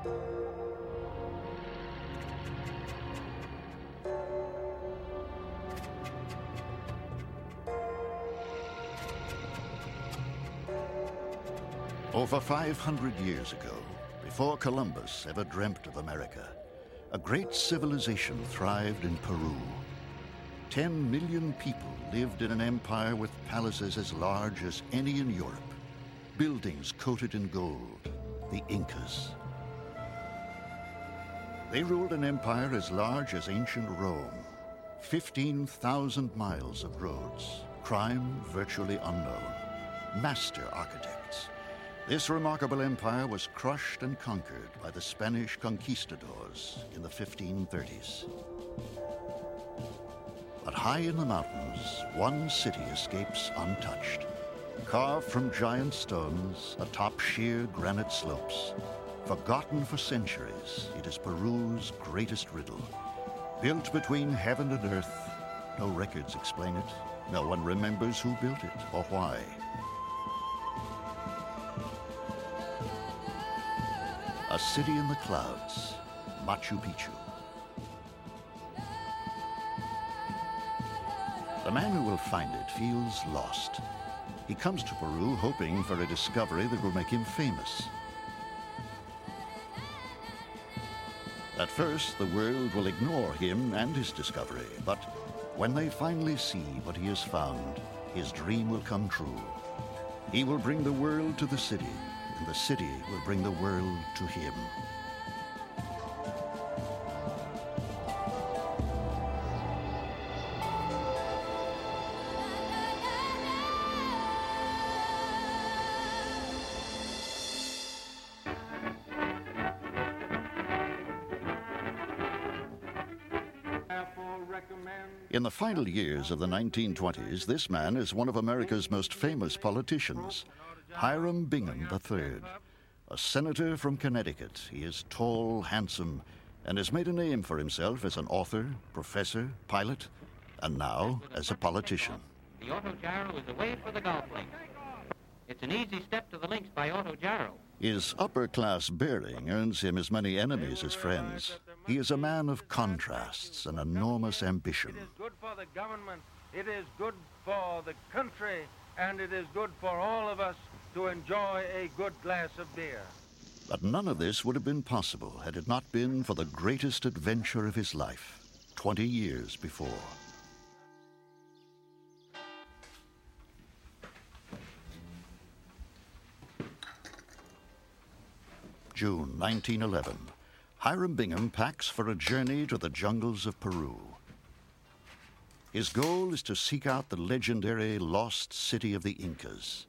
Over 500 years ago, before Columbus ever dreamt of America, a great civilization thrived in Peru. 10 million people lived in an empire with palaces as large as any in Europe, buildings coated in gold, the Incas. They ruled an empire as large as ancient Rome, 15,000 miles of roads, crime virtually unknown, master architects. This remarkable empire was crushed and conquered by the Spanish conquistadors in the 1530s. But high in the mountains, one city escapes untouched. Carved from giant stones atop sheer granite slopes, forgotten for centuries, it is Peru's greatest riddle. Built between heaven and earth, no records explain it. No one remembers who built it or why. A city in the clouds, Machu Picchu. The man who will find it feels lost. He comes to Peru hoping for a discovery that will make him famous. At first, the world will ignore him and his discovery, but when they finally see what he has found, his dream will come true. He will bring the world to the city, and the city will bring the world to him. In the final years of the 1920s, this man is one of America's most famous politicians, Hiram Bingham III. A senator from Connecticut, he is tall, handsome, and has made a name for himself as an author, professor, pilot, and now as a politician. The autogyro is away for the golf links. It's an easy step to the links by autogyro. His upper-class bearing earns him as many enemies as friends. He is a man of contrasts and enormous ambition. It is good for the government, it is good for the country, and it is good for all of us to enjoy a good glass of beer. But none of this would have been possible had it not been for the greatest adventure of his life, 20 years before. June 1911. Hiram Bingham packs for a journey to the jungles of Peru. His goal is to seek out the legendary lost city of the Incas.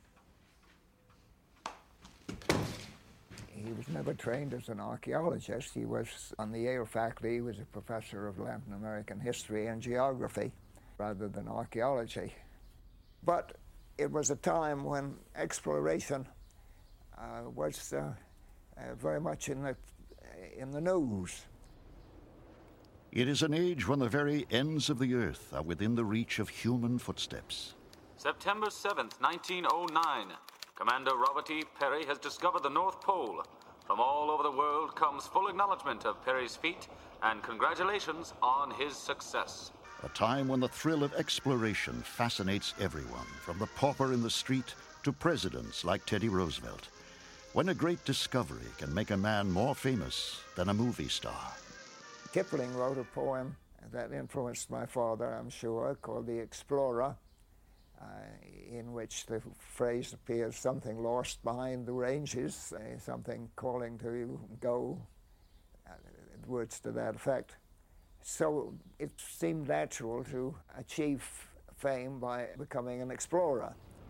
He was never trained as an archaeologist. He was on the Yale faculty. He was a professor of Latin American history and geography rather than archaeology. But it was a time when exploration was very much in the news. It is an age when the very ends of the earth are within the reach of human footsteps. September 7th, 1909. Commander Robert E. Peary has discovered the North Pole. From all over the world comes full acknowledgement of Peary's feat and congratulations on his success. A time when the thrill of exploration fascinates everyone, from the pauper in the street to presidents like Teddy Roosevelt. When a great discovery can make a man more famous than a movie star. Kipling wrote a poem that influenced my father, I'm sure, called The Explorer, in which the phrase appears, something lost behind the ranges, something calling to you, go, words to that effect. So it seemed natural to achieve fame by becoming an explorer.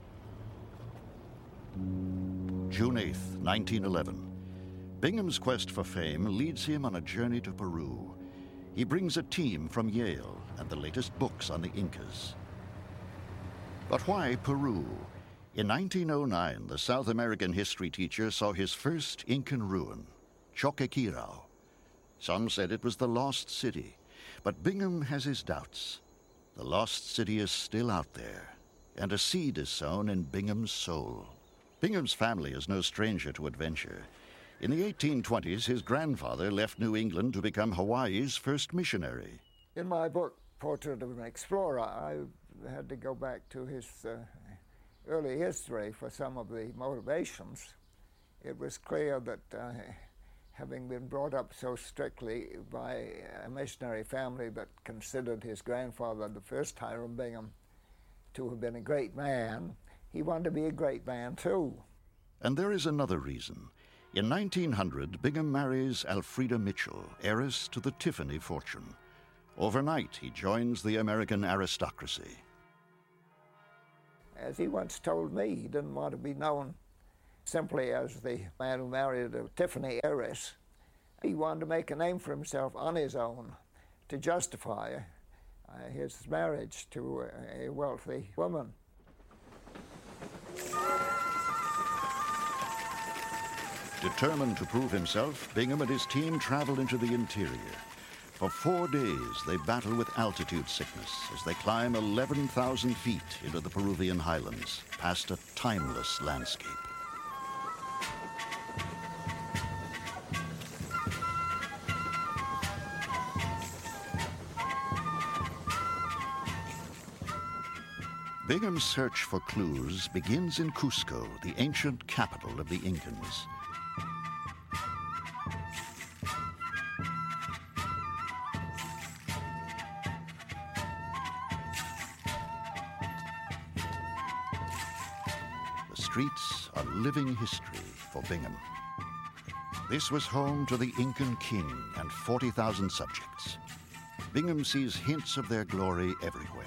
June 8th, 1911. Bingham's quest for fame leads him on a journey to Peru. He brings a team from Yale and the latest books on the Incas. But why Peru? In 1909, the South American history teacher saw his first Incan ruin, Choqquequirao. Some said it was the lost city, but Bingham has his doubts. The lost city is still out there, and a seed is sown in Bingham's soul. Bingham's family is no stranger to adventure. In the 1820s, his grandfather left New England to become Hawaii's first missionary. In my book, Portrait of an Explorer, I had to go back to his early history for some of the motivations. It was clear that having been brought up so strictly by a missionary family that considered his grandfather, the first Hiram Bingham, to have been a great man, he wanted to be a great man too. And there is another reason. In 1900, Bingham marries Elfrida Mitchell, heiress to the Tiffany fortune. Overnight, he joins the American aristocracy. As he once told me, he didn't want to be known simply as the man who married a Tiffany heiress. He wanted to make a name for himself on his own to justify his marriage to a wealthy woman. Determined to prove himself, Bingham and his team travel into the interior. For 4 days, they battle with altitude sickness as they climb 11,000 feet into the Peruvian highlands, past a timeless landscape. Bingham's search for clues begins in Cusco, the ancient capital of the Incans. The streets are living history for Bingham. This was home to the Incan king and 40,000 subjects. Bingham sees hints of their glory everywhere.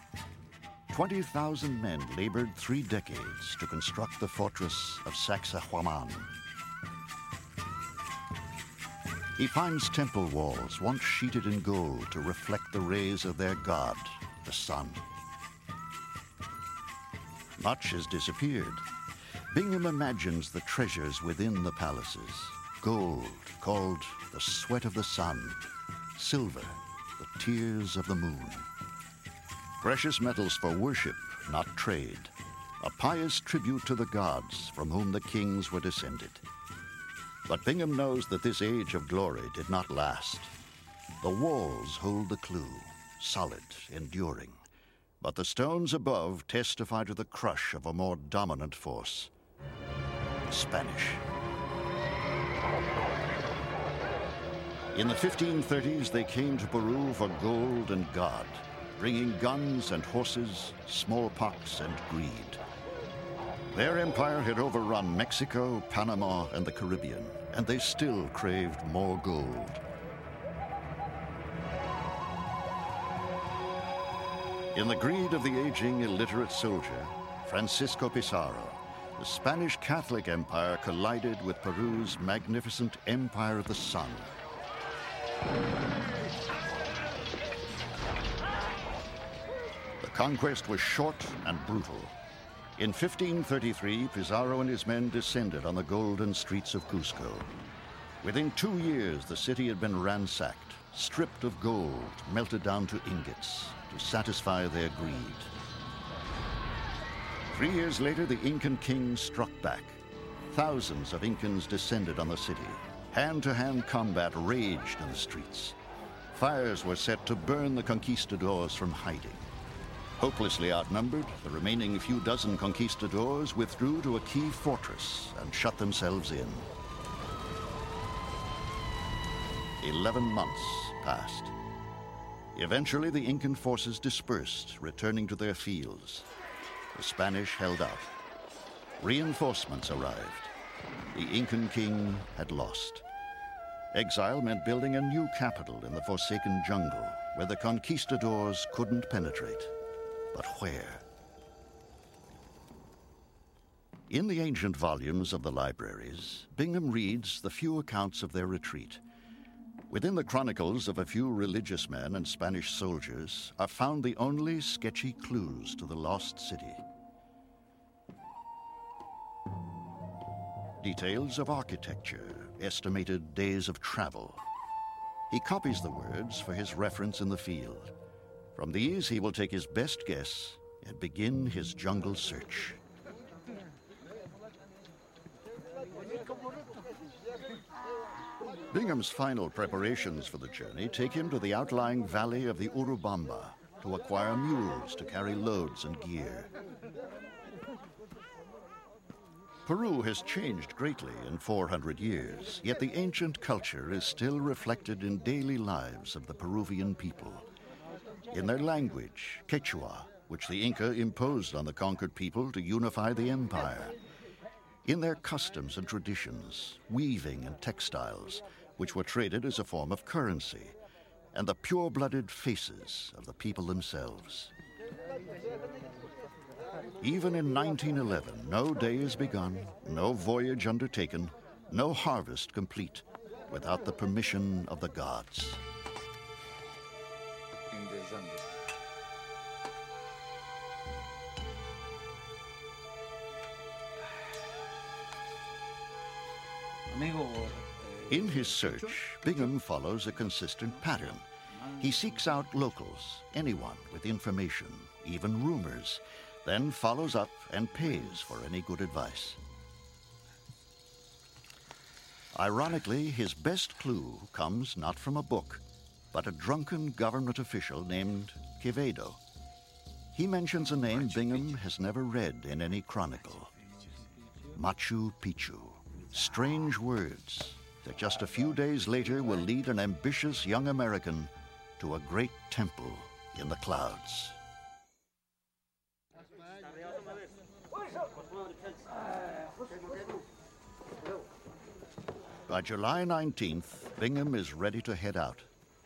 20,000 men labored 3 decades to construct the fortress of Sacsayhuaman. He finds temple walls once sheeted in gold to reflect the rays of their god, the sun. Much has disappeared. Bingham imagines the treasures within the palaces. Gold, called the sweat of the sun. Silver, the tears of the moon. Precious metals for worship, not trade. A pious tribute to the gods from whom the kings were descended. But Bingham knows that this age of glory did not last. The walls hold the clue, solid, enduring. But the stones above testify to the crush of a more dominant force, the Spanish. In the 1530s, they came to Peru for gold and God, bringing guns and horses, smallpox and greed. Their empire had overrun Mexico, Panama, and the Caribbean, and they still craved more gold. In the greed of the aging, illiterate soldier, Francisco Pizarro, the Spanish Catholic Empire collided with Peru's magnificent Empire of the Sun. The conquest was short and brutal. In 1533, Pizarro and his men descended on the golden streets of Cusco. Within 2 years, the city had been ransacked, stripped of gold, melted down to ingots to satisfy their greed. 3 years later, the Incan king struck back. Thousands of Incans descended on the city. Hand-to-hand combat raged in the streets. Fires were set to burn the conquistadors from hiding. Hopelessly outnumbered, the remaining few dozen conquistadors withdrew to a key fortress and shut themselves in. 11 months passed. Eventually, the Incan forces dispersed, returning to their fields. The Spanish held out. Reinforcements arrived. The Incan king had lost. Exile meant building a new capital in the forsaken jungle where the conquistadors couldn't penetrate. But where? In the ancient volumes of the libraries, Bingham reads the few accounts of their retreat. Within the chronicles of a few religious men and Spanish soldiers are found the only sketchy clues to the lost city. Details of architecture, estimated days of travel. He copies the words for his reference in the field. From these, he will take his best guess and begin his jungle search. Bingham's final preparations for the journey take him to the outlying valley of the Urubamba to acquire mules to carry loads and gear. Peru has changed greatly in 400 years, yet the ancient culture is still reflected in daily lives of the Peruvian people. In their language, Quechua, which the Inca imposed on the conquered people to unify the empire. In their customs and traditions, weaving and textiles, which were traded as a form of currency, and the pure-blooded faces of the people themselves. Even in 1911, no day is begun, no voyage undertaken, no harvest complete without the permission of the gods. In his search, Bingham follows a consistent pattern. He seeks out locals, anyone with information, even rumors, then follows up and pays for any good advice. Ironically, his best clue comes not from a book, but a drunken government official named Quevedo. He mentions a name Bingham has never read in any chronicle. Machu Picchu. Strange words that just a few days later will lead an ambitious young American to a great temple in the clouds. By July 19th, Bingham is ready to head out.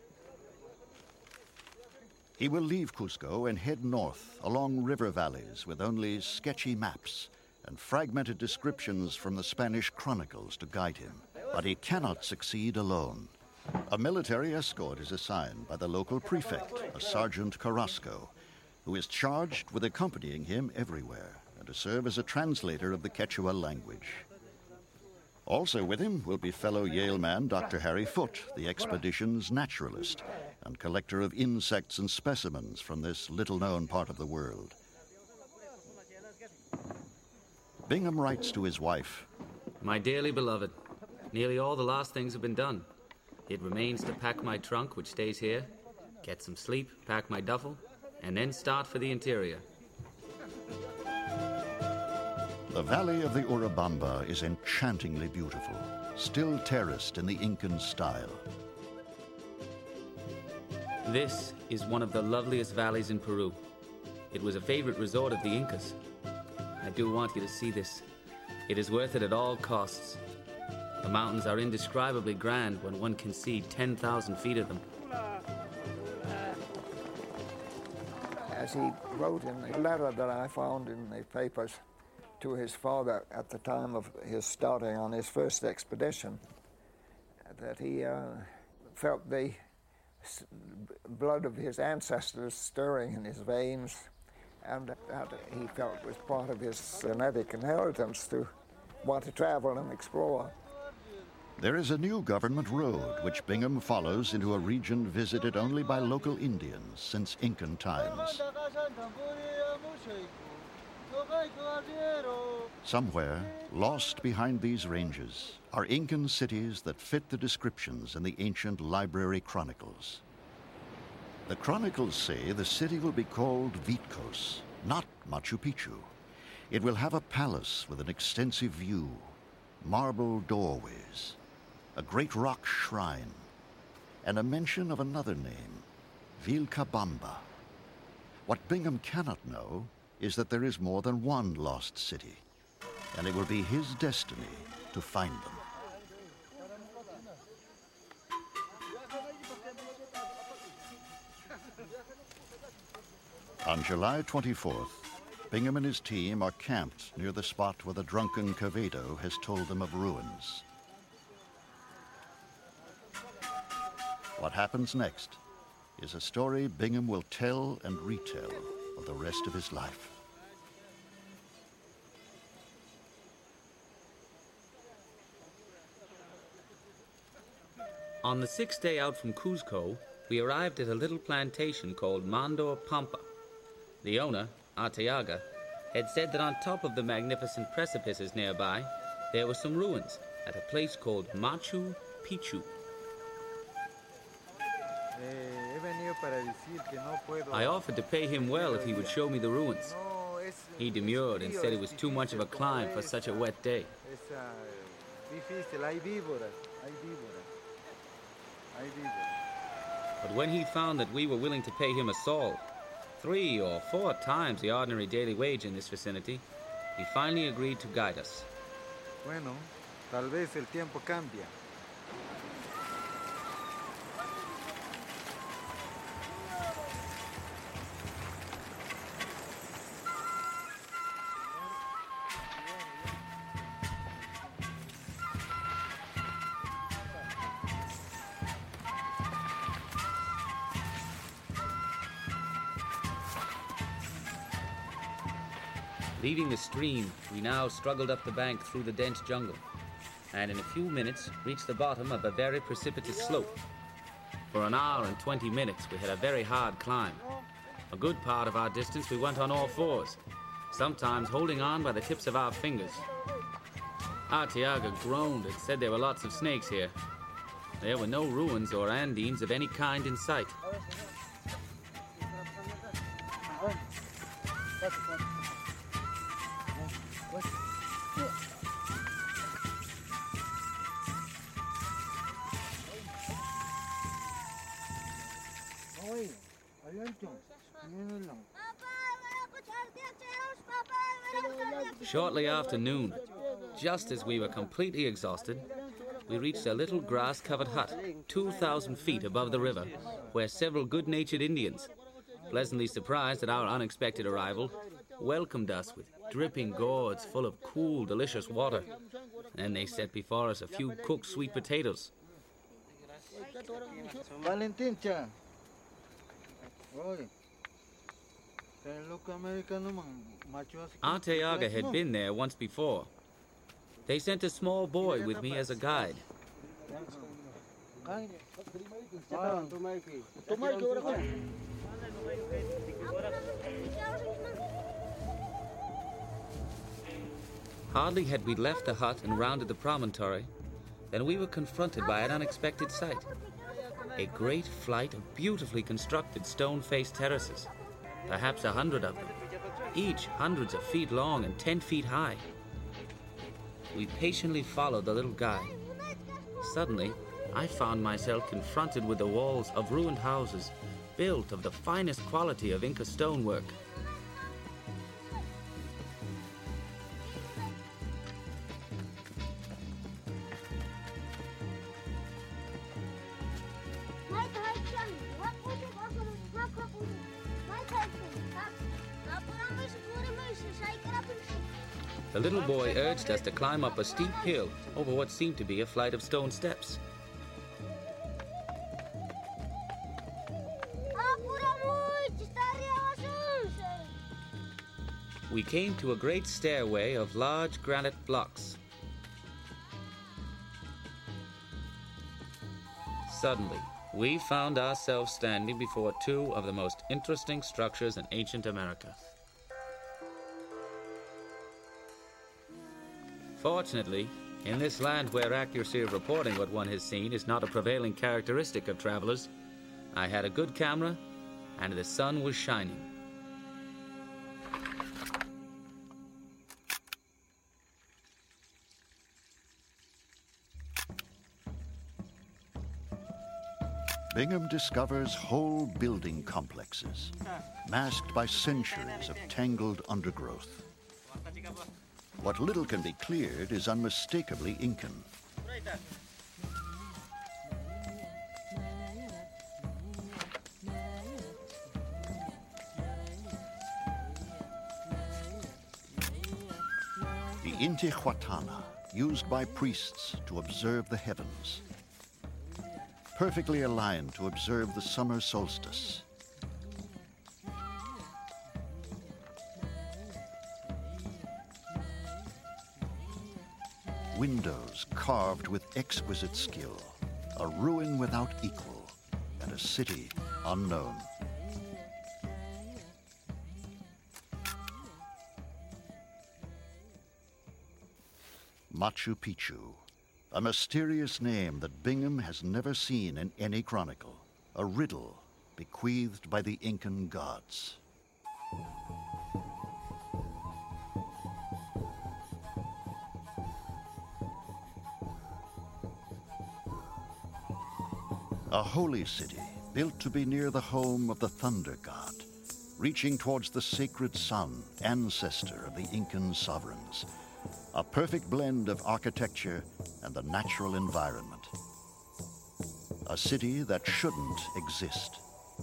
He will leave Cusco and head north along river valleys with only sketchy maps and fragmented descriptions from the Spanish chronicles to guide him. But he cannot succeed alone. A military escort is assigned by the local prefect, a Sergeant Carrasco, who is charged with accompanying him everywhere and to serve as a translator of the Quechua language. Also with him will be fellow Yale man Dr. Harry Foote, the expedition's naturalist and collector of insects and specimens from this little-known part of the world. Bingham writes to his wife, My dearly beloved, nearly all the last things have been done. It remains to pack my trunk, which stays here, get some sleep, pack my duffel, and then start for the interior. The valley of the Urubamba is enchantingly beautiful, still terraced in the Incan style. This is one of the loveliest valleys in Peru. It was a favorite resort of the Incas. I do want you to see this. It is worth it at all costs. The mountains are indescribably grand when one can see 10,000 feet of them. As he wrote in the letter that I found in the papers to his father at the time of his starting on his first expedition, that he felt the blood of his ancestors stirring in his veins, and that he felt was part of his genetic inheritance to want to travel and explore. There is a new government road which Bingham follows into a region visited only by local Indians since Incan times. Somewhere, lost behind these ranges, are Incan cities that fit the descriptions in the ancient library chronicles. The chronicles say the city will be called Vitcos, not Machu Picchu. It will have a palace with an extensive view, marble doorways, a great rock shrine, and a mention of another name, Vilcabamba. What Bingham cannot know is that there is more than one lost city, and it will be his destiny to find them. On July 24th, Bingham and his team are camped near the spot where the drunken Quevedo has told them of ruins. What happens next is a story Bingham will tell and retell for the rest of his life. On the sixth day out from Cuzco, we arrived at a little plantation called Mandor Pampa. The owner, Arteaga, had said that on top of the magnificent precipices nearby, there were some ruins at a place called Machu Picchu. I offered to pay him well if he would show me the ruins. He demurred and said it was too much of a climb for such a wet day. But when he found that we were willing to pay him a sol, 3 or 4 times the ordinary daily wage in this vicinity, he finally agreed to guide us. Bueno, tal vez el tiempo cambia. Leaving the stream, we now struggled up the bank through the dense jungle, and in a few minutes reached the bottom of a very precipitous slope. For an hour and 20 minutes, we had a very hard climb. A good part of our distance we went on all fours, sometimes holding on by the tips of our fingers. Arteaga groaned and said there were lots of snakes here. There were no ruins or Andines of any kind in sight. Shortly after noon, just as we were completely exhausted, we reached a little grass-covered hut 2,000 feet above the river, where several good-natured Indians, pleasantly surprised at our unexpected arrival, welcomed us with dripping gourds full of cool, delicious water. Then they set before us a few cooked sweet potatoes. Valentincha. Arteaga had been there once before. They sent a small boy with me as a guide. Hardly had we left the hut and rounded the promontory, then we were confronted by an unexpected sight. A great flight of beautifully constructed stone-faced terraces, perhaps 100 of them, each hundreds of feet long and 10 feet high. We patiently followed the little guide. Suddenly, I found myself confronted with the walls of ruined houses built of the finest quality of Inca stonework. The little boy urged us to climb up a steep hill over what seemed to be a flight of stone steps. We came to a great stairway of large granite blocks. Suddenly, we found ourselves standing before 2 of the most interesting structures in ancient America. Fortunately, in this land where accuracy of reporting what one has seen is not a prevailing characteristic of travelers, I had a good camera and the sun was shining. Bingham discovers whole building complexes, masked by centuries of tangled undergrowth. What little can be cleared is unmistakably Incan. The Intihuatana, used by priests to observe the heavens, perfectly aligned to observe the summer solstice. Windows carved with exquisite skill, a ruin without equal, and a city unknown. Machu Picchu, a mysterious name that Bingham has never seen in any chronicle, a riddle bequeathed by the Incan gods. A holy city built to be near the home of the thunder god, reaching towards the sacred sun, ancestor of the Incan sovereigns. A perfect blend of architecture and the natural environment. A city that shouldn't exist.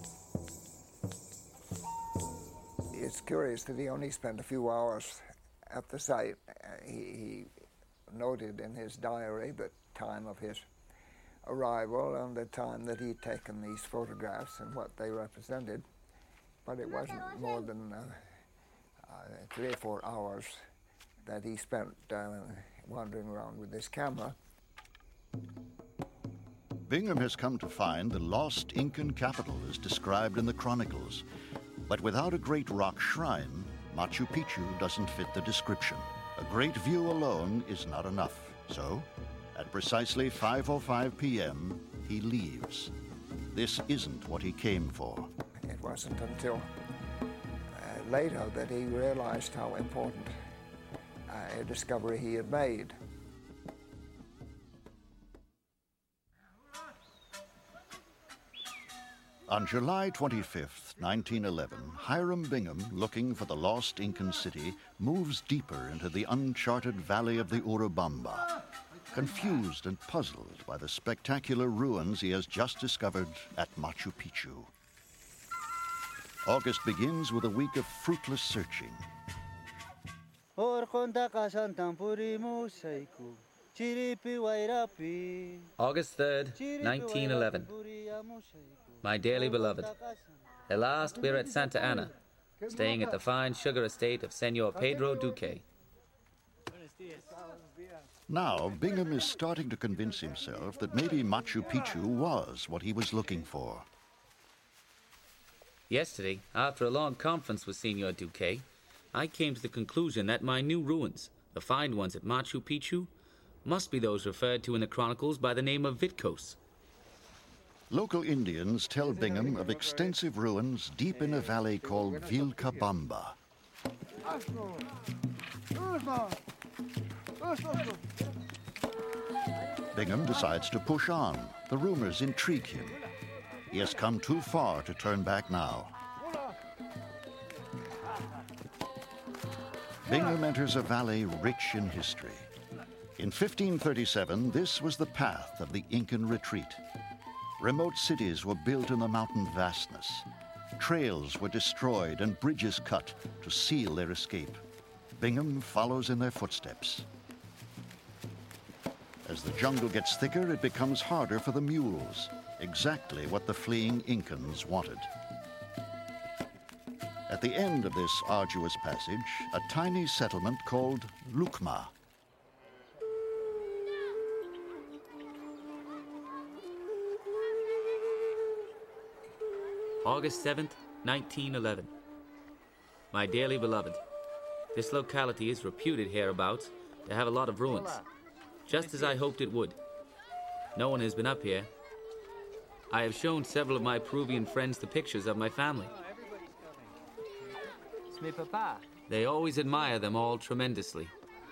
It's curious that he only spent a few hours at the site. He noted in his diary the time of his arrival and the time that he'd taken these photographs and what they represented. But it wasn't more than 3 or 4 hours that he spent wandering around with this camera. Bingham has come to find the lost Incan capital as described in the chronicles. But without a great rock shrine, Machu Picchu doesn't fit the description. A great view alone is not enough. So, at precisely 5:05 p.m., he leaves. This isn't what he came for. It wasn't until later that he realized how important a discovery he had made. On July 25th, 1911, Hiram Bingham, looking for the lost Incan city, moves deeper into the uncharted valley of the Urubamba, confused and puzzled by the spectacular ruins he has just discovered at Machu Picchu. August begins with a week of fruitless searching. August 3rd, 1911. My dearly beloved, at last we're at Santa Ana, staying at the fine sugar estate of Senor Pedro Duque. Now, Bingham is starting to convince himself that maybe Machu Picchu was what he was looking for. Yesterday, after a long conference with Senor Duque, I came to the conclusion that my new ruins, the fine ones at Machu Picchu, must be those referred to in the chronicles by the name of Vitkos. Local Indians tell Bingham of extensive ruins deep in a valley called Vilcabamba. Bingham decides to push on. The rumors intrigue him. He has come too far to turn back now. Bingham enters a valley rich in history. In 1537, this was the path of the Incan retreat. Remote cities were built in the mountain vastness. Trails were destroyed and bridges cut to seal their escape. Bingham follows in their footsteps. As the jungle gets thicker, it becomes harder for the mules, exactly what the fleeing Incans wanted. At the end of this arduous passage, a tiny settlement called Lucma. August 7th, 1911. My dearly beloved, this locality is reputed hereabouts to have a lot of ruins, just as I hoped it would. No one has been up here. I have shown several of my Peruvian friends the pictures of my family. They always admire them all tremendously.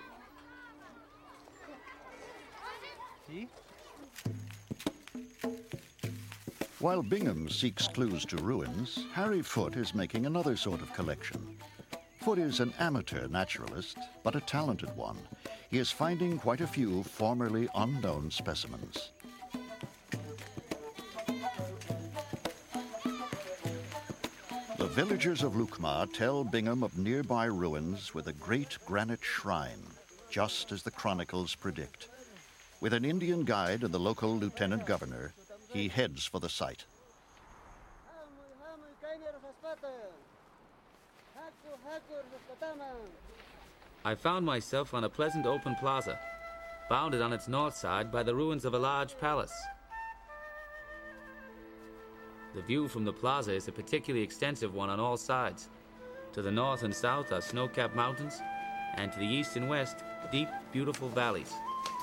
While Bingham seeks clues to ruins, Harry Foote is making another sort of collection. Foote is an amateur naturalist, but a talented one. He is finding quite a few formerly unknown specimens. The villagers of Lucma tell Bingham of nearby ruins with a great granite shrine, just as the chronicles predict. With an Indian guide and the local lieutenant governor, he heads for the site. I found myself on a pleasant open plaza, bounded on its north side by the ruins of a large palace. The view from the plaza is a particularly extensive one on all sides. To the north and south are snow-capped mountains, and to the east and west, deep, beautiful valleys.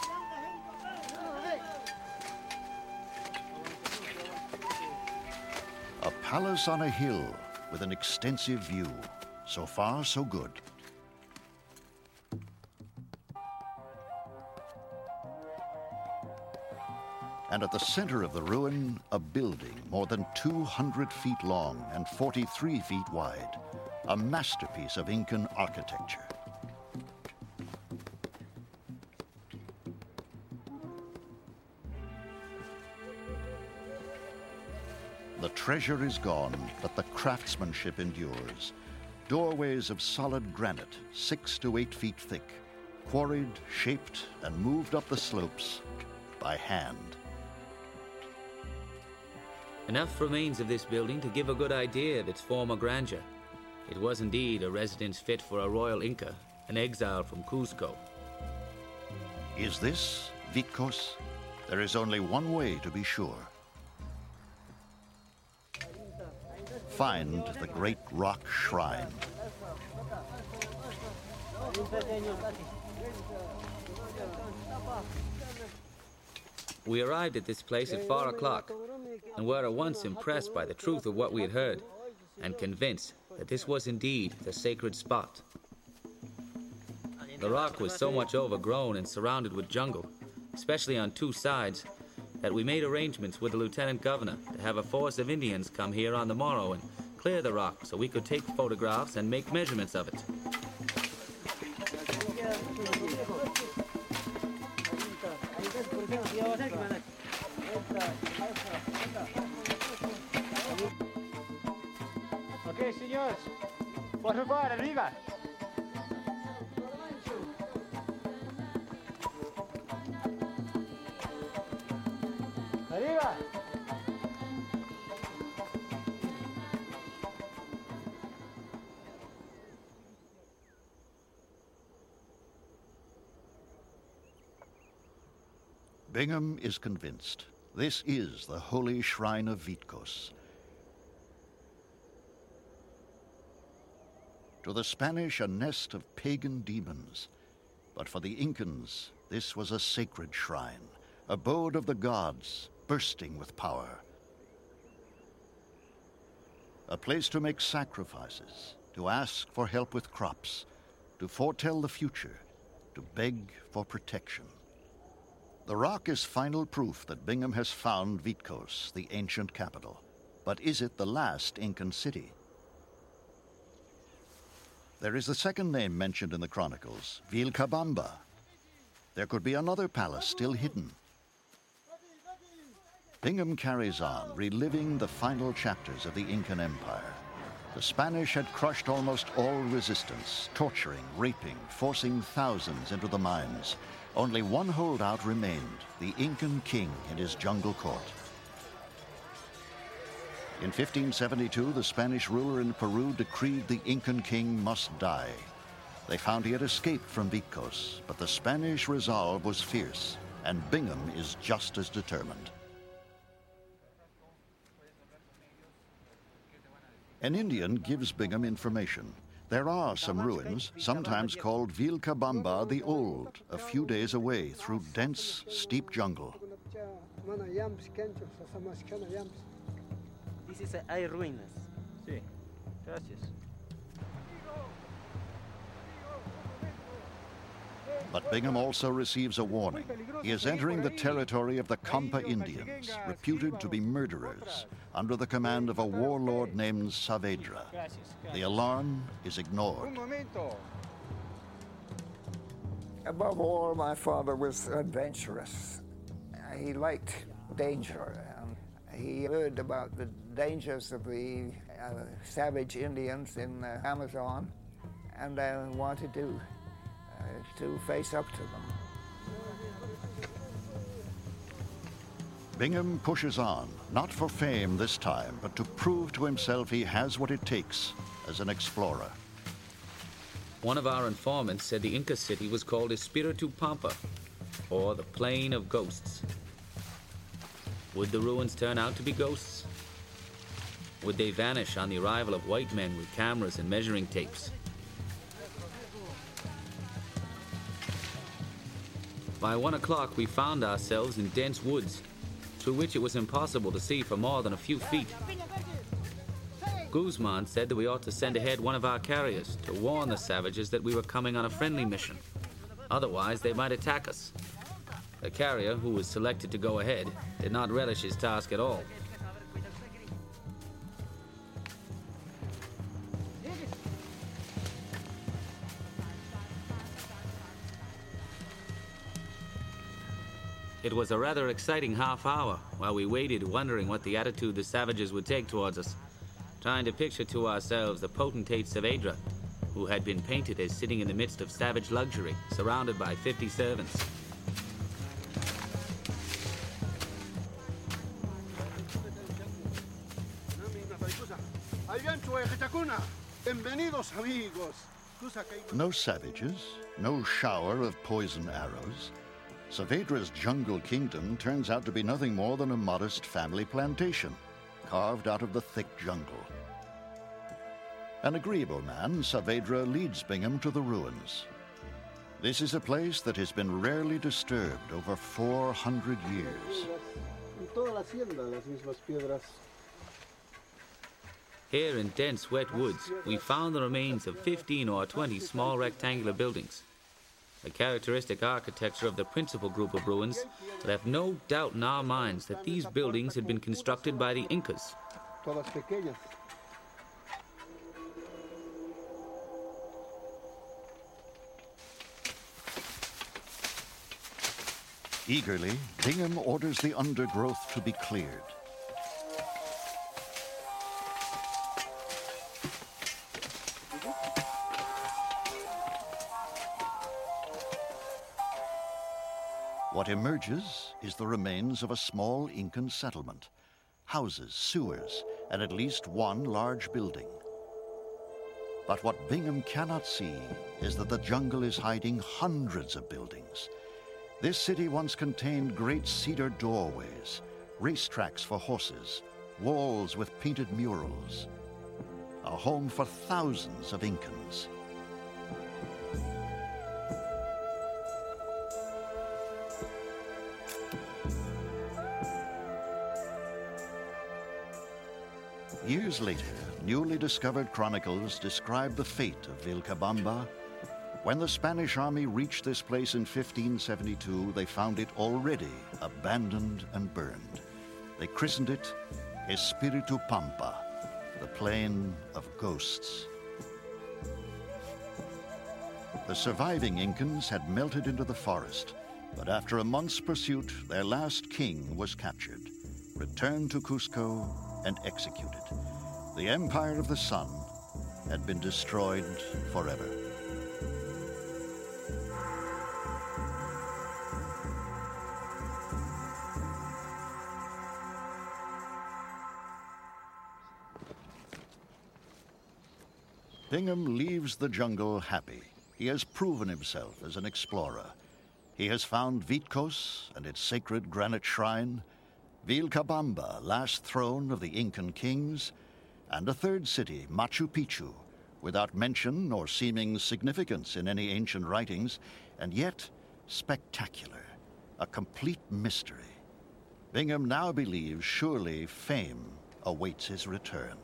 A palace on a hill with an extensive view. So far, so good. And at the center of the ruin, a building more than 200 feet long and 43 feet wide. A masterpiece of Incan architecture. The treasure is gone, but the craftsmanship endures. Doorways of solid granite, 6 to 8 feet thick, quarried, shaped, and moved up the slopes by hand. Enough remains of this building to give a good idea of its former grandeur. It was indeed a residence fit for a royal Inca, an exile from Cuzco. Is this Vitcos? There is only one way to be sure. Find the great rock shrine. We arrived at this place at 4 o'clock and were at once impressed by the truth of what we had heard and convinced that this was indeed the sacred spot. The rock was so much overgrown and surrounded with jungle, especially on 2 sides, that we made arrangements with the lieutenant governor to have a force of Indians come here on the morrow and clear the rock so we could take photographs and make measurements of it. Ok, senhores, por favor, arriba. Arriba. Bingham is convinced. This is the holy shrine of Vitcos. To the Spanish, a nest of pagan demons. But for the Incans, this was a sacred shrine, abode of the gods, bursting with power. A place to make sacrifices, to ask for help with crops, to foretell the future, to beg for protection. The rock is final proof that Bingham has found Vitcos, the ancient capital. But is it the last Incan city? There is the second name mentioned in the chronicles, Vilcabamba. There could be another palace still hidden. Bingham carries on, reliving the final chapters of the Incan Empire. The Spanish had crushed almost all resistance, torturing, raping, forcing thousands into the mines. Only one holdout remained, the Incan king in his jungle court. In 1572, the Spanish ruler in Peru decreed the Incan king must die. They found he had escaped from Vitcos, but the Spanish resolve was fierce, and Bingham is just as determined. An Indian gives Bingham information. There are some ruins, sometimes called Vilcabamba the Old, a few days away through dense, steep jungle. This is hay ruinas. Sí, gracias. But Bingham also receives a warning. He is entering the territory of the Campa Indians, reputed to be murderers, under the command of a warlord named Saavedra. The alarm is ignored. Above all, my father was adventurous. He liked danger. He heard about the dangers of the savage Indians in the Amazon and wanted to face up to them. Bingham pushes on, not for fame this time, but to prove to himself he has what it takes as an explorer. One of our informants said the Inca city was called Espiritu Pampa, or the Plain of Ghosts. Would the ruins turn out to be ghosts? Would they vanish on the arrival of white men with cameras and measuring tapes? By 1 o'clock, we found ourselves in dense woods, through which it was impossible to see for more than a few feet. Guzman said that we ought to send ahead one of our carriers to warn the savages that we were coming on a friendly mission. Otherwise, they might attack us. The carrier, who was selected to go ahead, did not relish his task at all. It was a rather exciting half hour while we waited, wondering what the attitude the savages would take towards us, trying to picture to ourselves the potentate Saavedra, who had been painted as sitting in the midst of savage luxury, surrounded by 50 servants. No savages, no shower of poison arrows. Saavedra's jungle kingdom turns out to be nothing more than a modest family plantation, carved out of the thick jungle. An agreeable man, Saavedra leads Bingham to the ruins. This is a place that has been rarely disturbed over 400 years. Here in dense, wet woods, we found the remains of 15 or 20 small rectangular buildings. The characteristic architecture of the principal group of ruins left no doubt in our minds that these buildings had been constructed by the Incas. Eagerly, Bingham orders the undergrowth to be cleared. What emerges is the remains of a small Incan settlement, houses, sewers, and at least one large building. But what Bingham cannot see is that the jungle is hiding hundreds of buildings. This city once contained great cedar doorways, racetracks for horses, walls with painted murals, a home for thousands of Incans. Years later, newly discovered chronicles describe the fate of Vilcabamba. When the Spanish army reached this place in 1572, they found it already abandoned and burned. They christened it Espiritu Pampa, the plain of ghosts. The surviving Incans had melted into the forest, but after a month's pursuit, their last king was captured, returned to Cusco, and executed. The Empire of the Sun had been destroyed forever. Bingham leaves the jungle happy. He has proven himself as an explorer. He has found Vitcos and its sacred granite shrine, Vilcabamba, last throne of the Incan kings, and a third city, Machu Picchu, without mention or seeming significance in any ancient writings, and yet spectacular, a complete mystery. Bingham now believes surely fame awaits his return.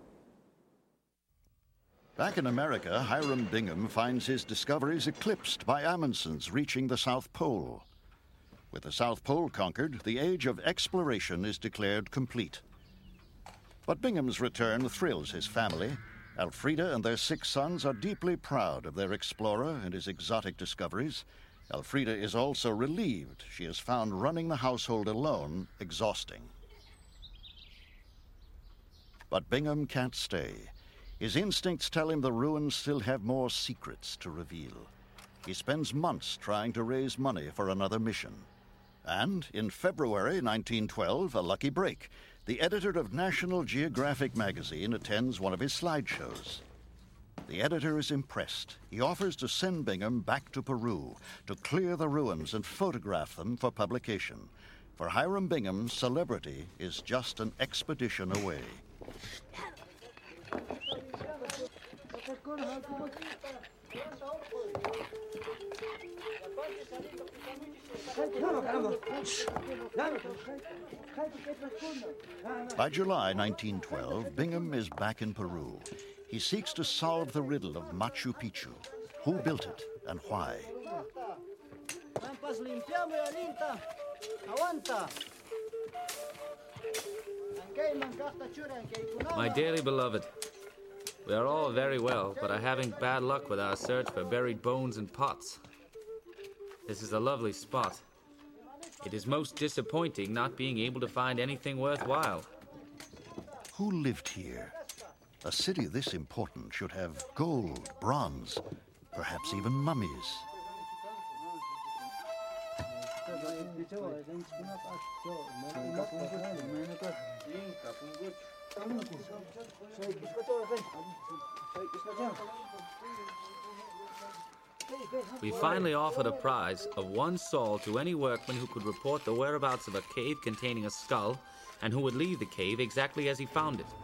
Back in America, Hiram Bingham finds his discoveries eclipsed by Amundsen's reaching the South Pole. With the South Pole conquered, the age of exploration is declared complete. But Bingham's return thrills his family. Elfrida and their 6 sons are deeply proud of their explorer and his exotic discoveries. Elfrida is also relieved. She has found running the household alone exhausting. But Bingham can't stay. His instincts tell him the ruins still have more secrets to reveal. He spends months trying to raise money for another mission. And in February 1912, a lucky break. The editor of National Geographic magazine attends one of his slideshows. The editor is impressed. He offers to send Bingham back to Peru to clear the ruins and photograph them for publication. For Hiram Bingham, celebrity is just an expedition away. By July 1912, Bingham is back in Peru. He seeks to solve the riddle of Machu Picchu. Who built it and why? My dearly beloved, we are all very well, but are having bad luck with our search for buried bones and pots. This is a lovely spot. It is most disappointing not being able to find anything worthwhile. Who lived here? A city this important should have gold, bronze, perhaps even mummies. We finally offered a prize of 1 sol to any workman who could report the whereabouts of a cave containing a skull and who would leave the cave exactly as he found it.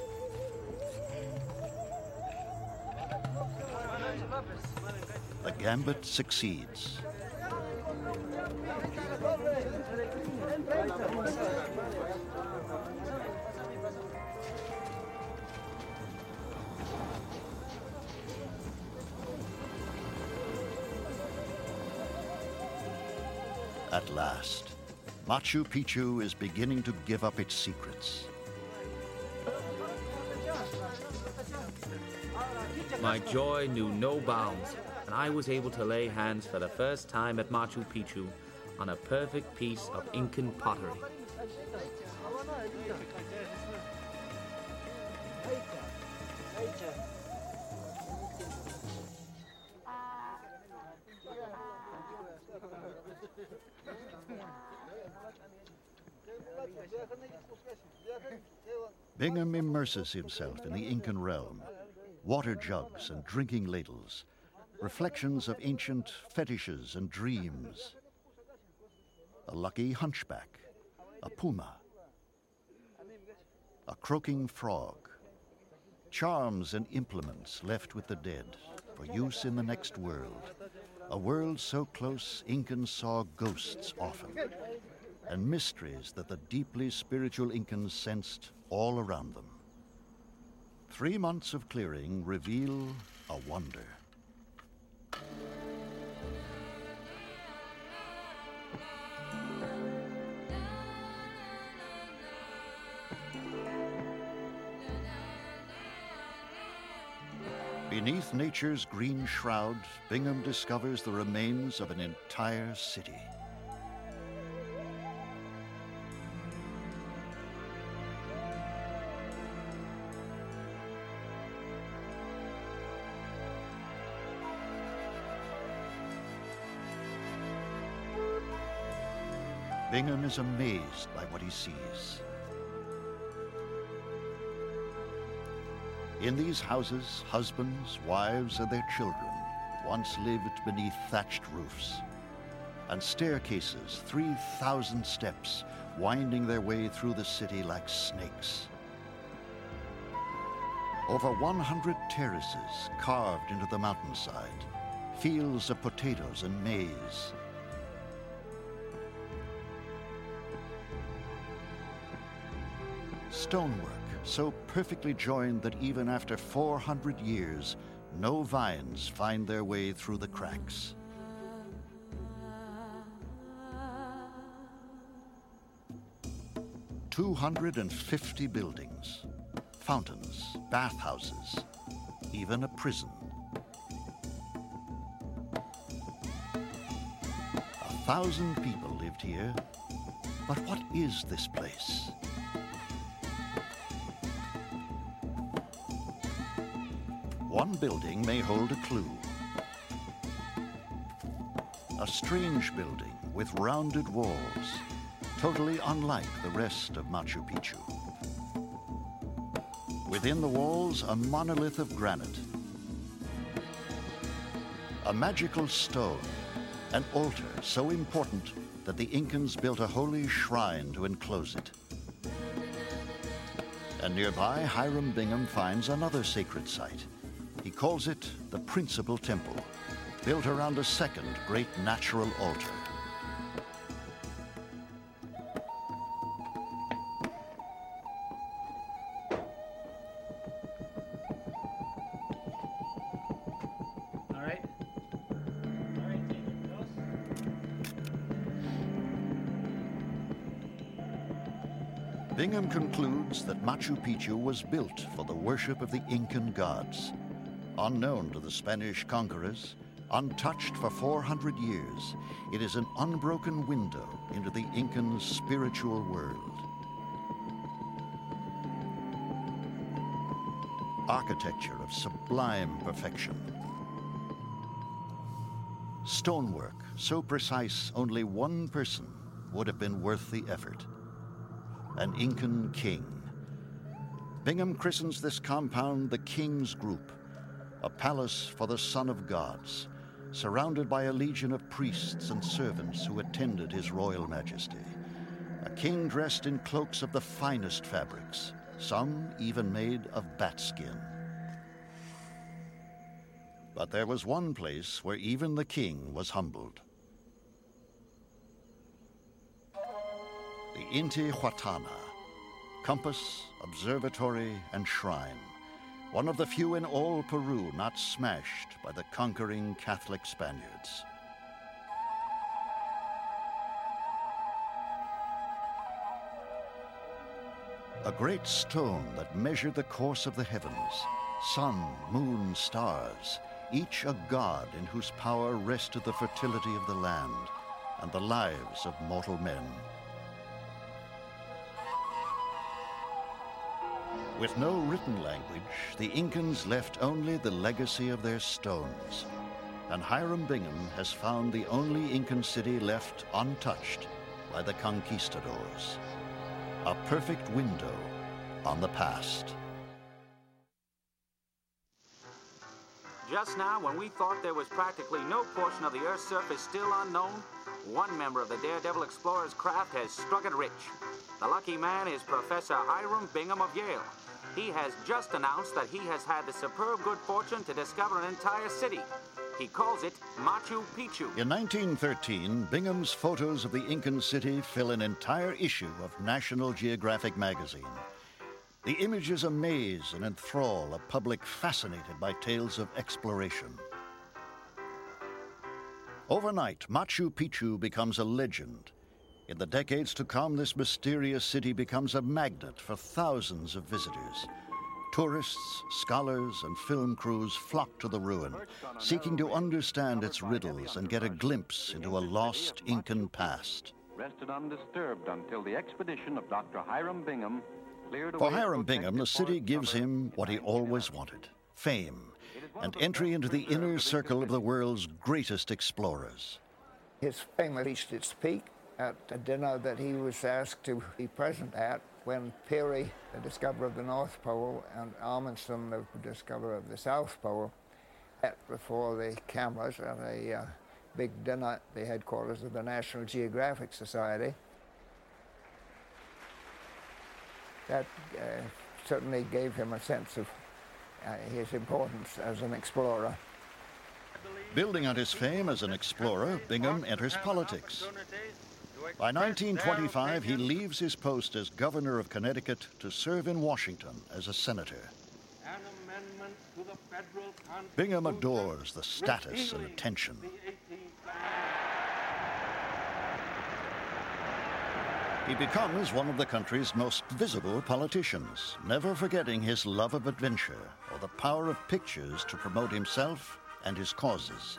The gambit succeeds. At last, Machu Picchu is beginning to give up its secrets. My joy knew no bounds, and I was able to lay hands for the first time at Machu Picchu on a perfect piece of Incan pottery. Bingham immerses himself in the Incan realm. Water jugs and drinking ladles, reflections of ancient fetishes and dreams. A lucky hunchback, a puma, a croaking frog, charms and implements left with the dead for use in the next world, a world so close Incans saw ghosts often, and mysteries that the deeply spiritual Incans sensed all around them. 3 months of clearing reveal a wonder. Beneath nature's green shroud, Bingham discovers the remains of an entire city. Bingham is amazed by what he sees. In these houses, husbands, wives, and their children once lived beneath thatched roofs, and staircases, 3,000 steps, winding their way through the city like snakes. Over 100 terraces carved into the mountainside, fields of potatoes and maize. Stonework so perfectly joined that even after 400 years, no vines find their way through the cracks. "250 buildings, fountains, bathhouses, even a prison. 1,000 people lived here, but what is this place? One building may hold a clue. A strange building with rounded walls, totally unlike the rest of Machu Picchu. Within the walls, a monolith of granite, a magical stone, an altar so important that the Incans built a holy shrine to enclose it. And nearby, Hiram Bingham finds another sacred site. He calls it the Principal Temple, built around a second great natural altar. All right. All right, take it close. Bingham concludes that Machu Picchu was built for the worship of the Incan gods. Unknown to the Spanish conquerors, untouched for 400 years, it is an unbroken window into the Incan spiritual world. Architecture of sublime perfection. Stonework so precise only one person would have been worth the effort. An Incan king. Bingham christens this compound the King's Group, a palace for the Son of Gods, surrounded by a legion of priests and servants who attended his royal majesty. A king dressed in cloaks of the finest fabrics, some even made of bat skin. But there was one place where even the king was humbled. The Intihuatana, compass, observatory, and shrine. One of the few in all Peru not smashed by the conquering Catholic Spaniards. A great stone that measured the course of the heavens, sun, moon, stars, each a god in whose power rested the fertility of the land and the lives of mortal men. With no written language, the Incans left only the legacy of their stones. And Hiram Bingham has found the only Incan city left untouched by the conquistadors. A perfect window on the past. Just now, when we thought there was practically no portion of the Earth's surface still unknown, one member of the Daredevil Explorer's craft has struck it rich. The lucky man is Professor Hiram Bingham of Yale. He has just announced that he has had the superb good fortune to discover an entire city. He calls it Machu Picchu. In 1913, Bingham's photos of the Incan city fill an entire issue of National Geographic magazine. The images amaze and enthrall a public fascinated by tales of exploration. Overnight, Machu Picchu becomes a legend. In the decades to come, this mysterious city becomes a magnet for thousands of visitors. Tourists, scholars, and film crews flock to the ruin, seeking to understand its riddles and get a glimpse into a lost Incan past. Rested undisturbed until the expedition of Dr. Hiram Bingham cleared away. For Hiram Bingham, the city gives him what he always wanted: fame and entry into the inner circle of the world's greatest explorers. His fame reached its peak at a dinner that he was asked to be present at when Peary, the discoverer of the North Pole, and Amundsen, the discoverer of the South Pole, met before the cameras at a big dinner at the headquarters of the National Geographic Society. That certainly gave him a sense of his importance as an explorer. Building on his fame as an explorer, Bingham enters politics. By 1925, he leaves his post as governor of Connecticut to serve in Washington as a senator. Bingham adores the status and attention. He becomes one of the country's most visible politicians, never forgetting his love of adventure or the power of pictures to promote himself and his causes.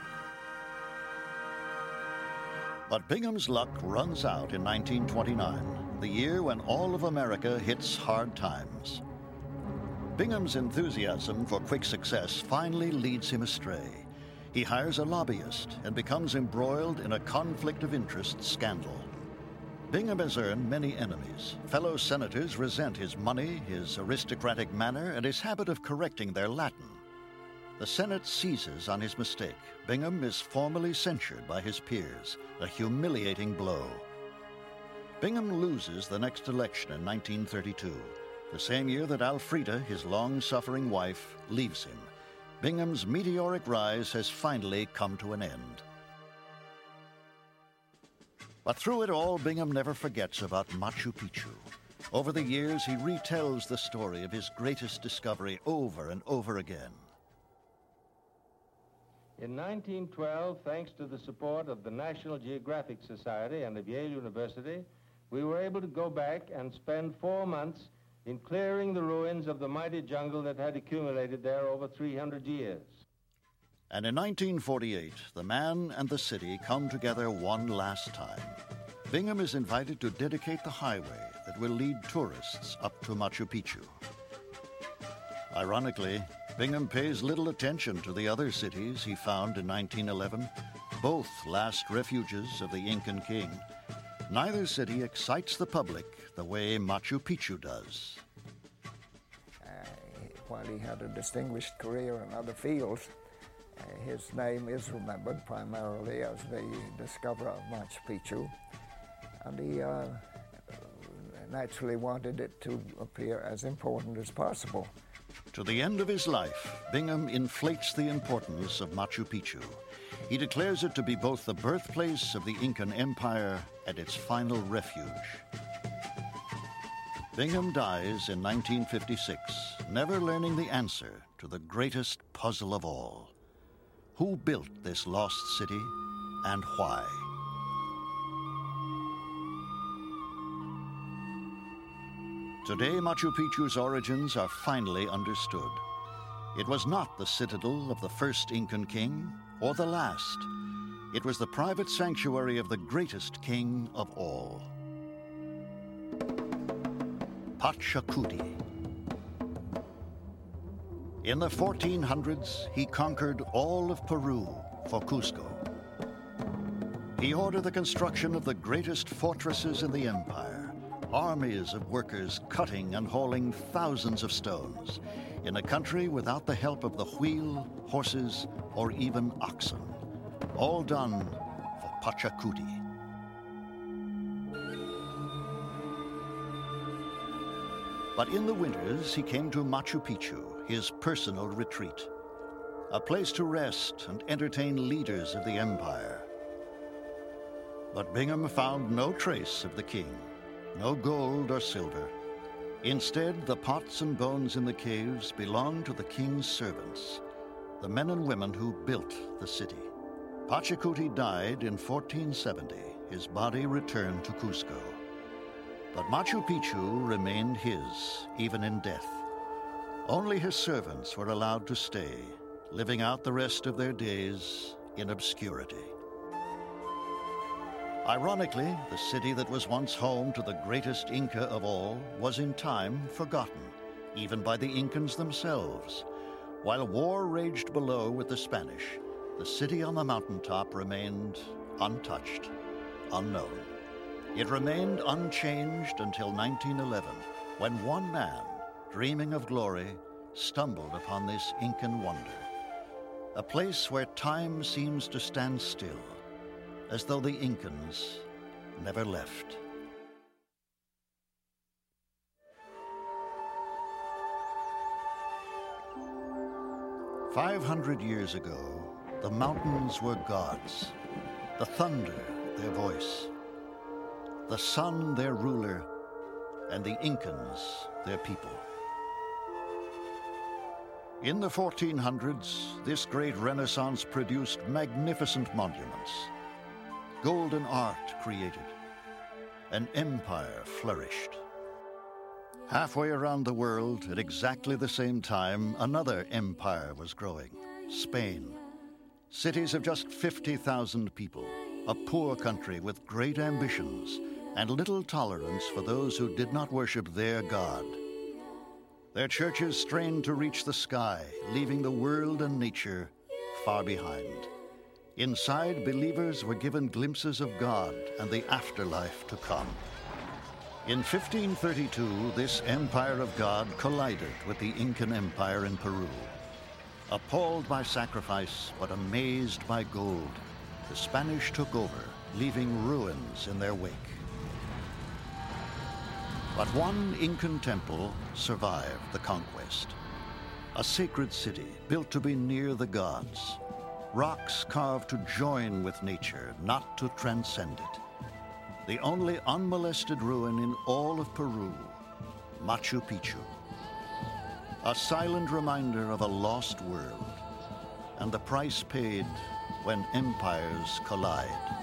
But Bingham's luck runs out in 1929, the year when all of America hits hard times. Bingham's enthusiasm for quick success finally leads him astray. He hires a lobbyist and becomes embroiled in a conflict of interest scandal. Bingham has earned many enemies. Fellow senators resent his money, his aristocratic manner, and his habit of correcting their Latin. The Senate seizes on his mistake. Bingham is formally censured by his peers, a humiliating blow. Bingham loses the next election in 1932, the same year that Alfreda, his long-suffering wife, leaves him. Bingham's meteoric rise has finally come to an end. But through it all, Bingham never forgets about Machu Picchu. Over the years, he retells the story of his greatest discovery over and over again. In 1912, thanks to the support of the National Geographic Society and of Yale University, we were able to go back and spend 4 months in clearing the ruins of the mighty jungle that had accumulated there over 300 years. And in 1948, the man and the city come together one last time. Bingham is invited to dedicate the highway that will lead tourists up to Machu Picchu. Ironically, Bingham pays little attention to the other cities he found in 1911, both last refuges of the Incan king. Neither city excites the public the way Machu Picchu does. While he had a distinguished career in other fields, his name is remembered primarily as the discoverer of Machu Picchu, and he naturally wanted it to appear as important as possible. To the end of his life, Bingham inflates the importance of Machu Picchu. He declares it to be both the birthplace of the Incan Empire and its final refuge. Bingham dies in 1956, never learning the answer to the greatest puzzle of all. Who built this lost city and why? Today, Machu Picchu's origins are finally understood. It was not the citadel of the first Incan king or the last. It was the private sanctuary of the greatest king of all. Pachacuti. In the 1400s, he conquered all of Peru for Cusco. He ordered the construction of the greatest fortresses in the empire, armies of workers cutting and hauling thousands of stones in a country without the help of the wheel, horses, or even oxen. All done for Pachacuti. But in the winters, he came to Machu Picchu, his personal retreat, a place to rest and entertain leaders of the empire. But Bingham found no trace of the king, no gold or silver. Instead, the pots and bones in the caves belonged to the king's servants, the men and women who built the city. Pachacuti died in 1470. His body returned to Cusco. But Machu Picchu remained his, even in death. Only his servants were allowed to stay, living out the rest of their days in obscurity. Ironically, the city that was once home to the greatest Inca of all was in time forgotten, even by the Incans themselves. While war raged below with the Spanish, the city on the mountaintop remained untouched, unknown. It remained unchanged until 1911, when one man, dreaming of glory, stumbled upon this Incan wonder. A place where time seems to stand still, as though the Incans never left. "500 years ago, the mountains were gods, the thunder their voice, the sun their ruler, and the Incans their people. In the 1400s, this great Renaissance produced magnificent monuments. Golden art created. An empire flourished. Halfway around the world, at exactly the same time, another empire was growing, Spain. Cities of just 50,000 people, a poor country with great ambitions and little tolerance for those who did not worship their God. Their churches strained to reach the sky, leaving the world and nature far behind. Inside, believers were given glimpses of God and the afterlife to come. In 1532, this empire of God collided with the Incan Empire in Peru. Appalled by sacrifice, but amazed by gold, the Spanish took over, leaving ruins in their wake. But one Incan temple survived the conquest. A sacred city built to be near the gods. Rocks carved to join with nature, not to transcend it. The only unmolested ruin in all of Peru, Machu Picchu. A silent reminder of a lost world, and the price paid when empires collide.